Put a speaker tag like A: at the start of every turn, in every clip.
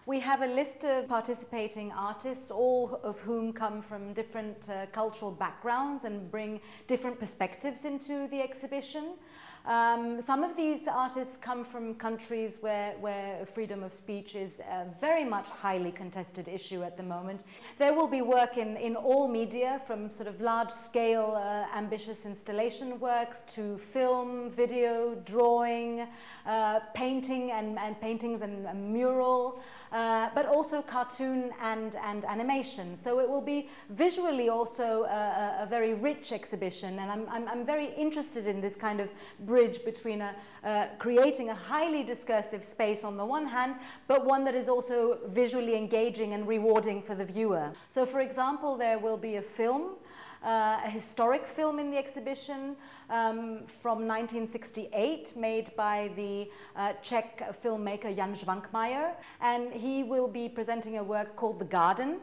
A: We have a list of participating artists, all of whom come from different cultural backgrounds and bring different perspectives into the exhibition. Some of these artists come from countries where freedom of speech is a very much highly contested issue at the moment. There will be work in all media, from sort of large-scale ambitious installation works to film, video, drawing, painting and paintings and mural, but also cartoon and animation. So it will be visually also a very rich exhibition, and I'm very interested in this kind of bridge between creating a highly discursive space on the one hand, but one that is also visually engaging and rewarding for the viewer. So for example, there will be a film, a historic film in the exhibition from 1968, made by the Czech filmmaker Jan Švankmajer, and he will be presenting a work called The Garden.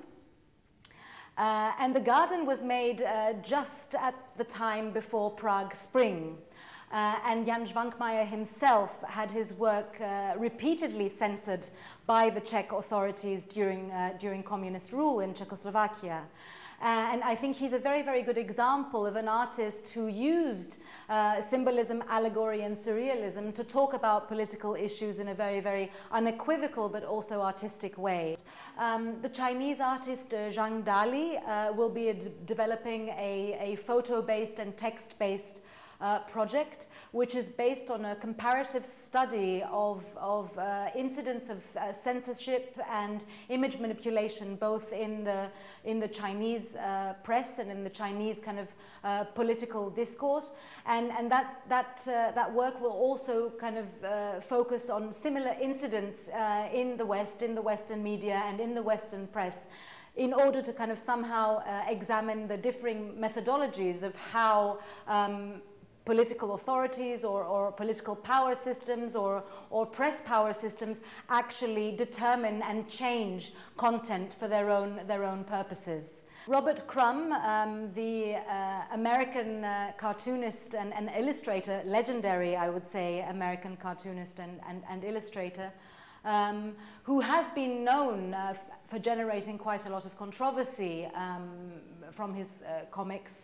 A: And The Garden was made just at the time before Prague Spring. And Jan Švankmajer himself had his work repeatedly censored by the Czech authorities during communist rule in Czechoslovakia. And I think he's a very, very good example of an artist who used symbolism, allegory and surrealism to talk about political issues in a very, very unequivocal but also artistic way. The Chinese artist Zhang Dali will be developing a photo-based and text-based project, which is based on a comparative study of incidents of censorship and image manipulation, both in the Chinese press and in the Chinese kind of political discourse, and that work will also kind of focus on similar incidents in the West, in the Western media and in the Western press, in order to kind of somehow examine the differing methodologies of how political authorities or political power systems or press power systems actually determine and change content for their own purposes. Robert Crumb, the American cartoonist and illustrator, legendary, I would say, American cartoonist and illustrator, who has been known for generating quite a lot of controversy from his comics,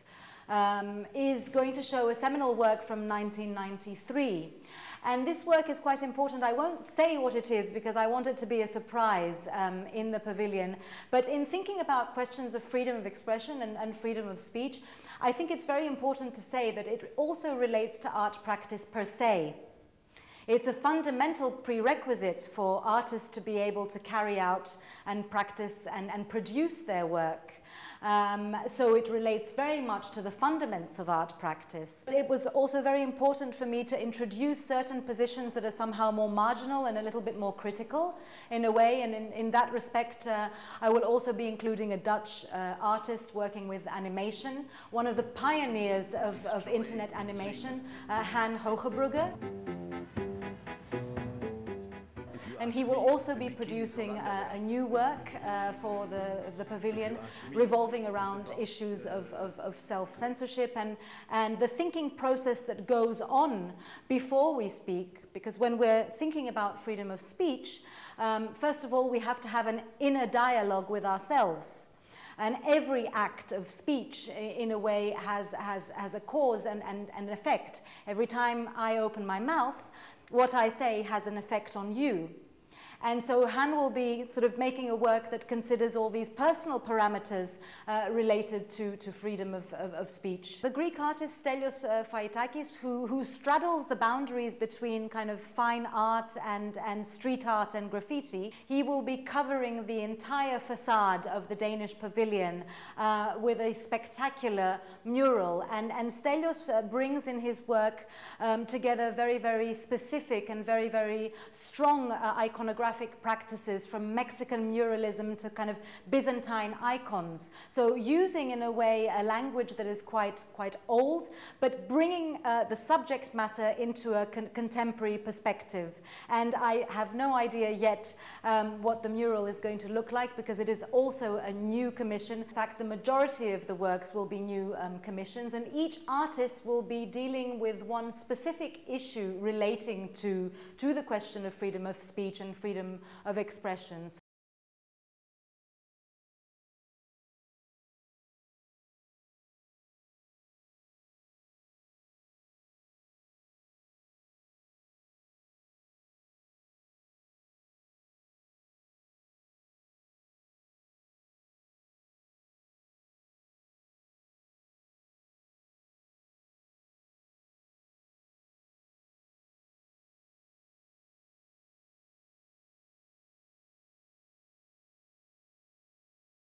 A: is going to show a seminal work from 1993. And this work is quite important. I won't say what it is because I want it to be a surprise in the pavilion. But in thinking about questions of freedom of expression and freedom of speech, I think it's very important to say that it also relates to art practice per se. It's a fundamental prerequisite for artists to be able to carry out and practice and produce their work. So it relates very much to the fundamentals of art practice. It was also very important for me to introduce certain positions that are somehow more marginal and a little bit more critical in a way, and in that respect I will also be including a Dutch artist working with animation, one of the pioneers of internet animation, Han Hogebrugge. And he will also be producing a new work for the pavilion, revolving around issues of self-censorship and the thinking process that goes on before we speak. Because when we're thinking about freedom of speech, first of all, we have to have an inner dialogue with ourselves. And every act of speech, in a way, has a cause and an effect. Every time I open my mouth, what I say has an effect on you. And so Han will be sort of making a work that considers all these personal parameters related to freedom of speech. The Greek artist Stelios Faitakis, who straddles the boundaries between kind of fine art and street art and graffiti, he will be covering the entire facade of the Danish pavilion with a spectacular mural. And Stelios brings in his work together very, very specific and very, very strong iconographic practices, from Mexican muralism to kind of Byzantine icons. So using, in a way, a language that is quite old, but bringing the subject matter into a contemporary perspective. And I have no idea yet what the mural is going to look like, because it is also a new commission. In fact, the majority of the works will be new commissions, and each artist will be dealing with one specific issue relating to the question of freedom of speech and freedom of expression.